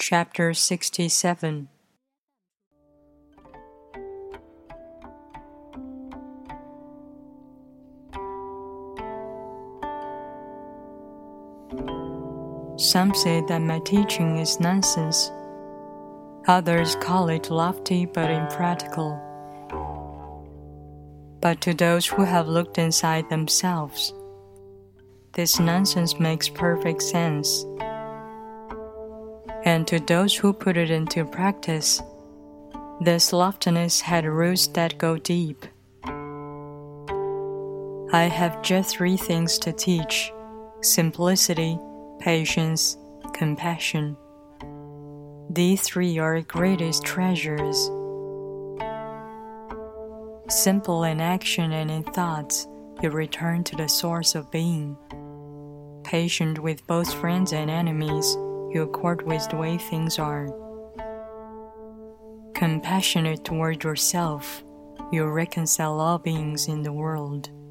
Chapter 67. Some say that my teaching is nonsense. Others call it lofty but impractical. But to those who have looked inside themselves, this nonsense makes perfect sense. And to those who put it into practice, this loftiness had roots that go deep. I have just 3 things to teach: simplicity, patience, compassion. These 3 are greatest treasures. Simple in action and in thoughts, you return to the source of being. Patient with both friends and enemies, you accord with the way things are. Compassionate toward yourself, you reconcile all beings in the world.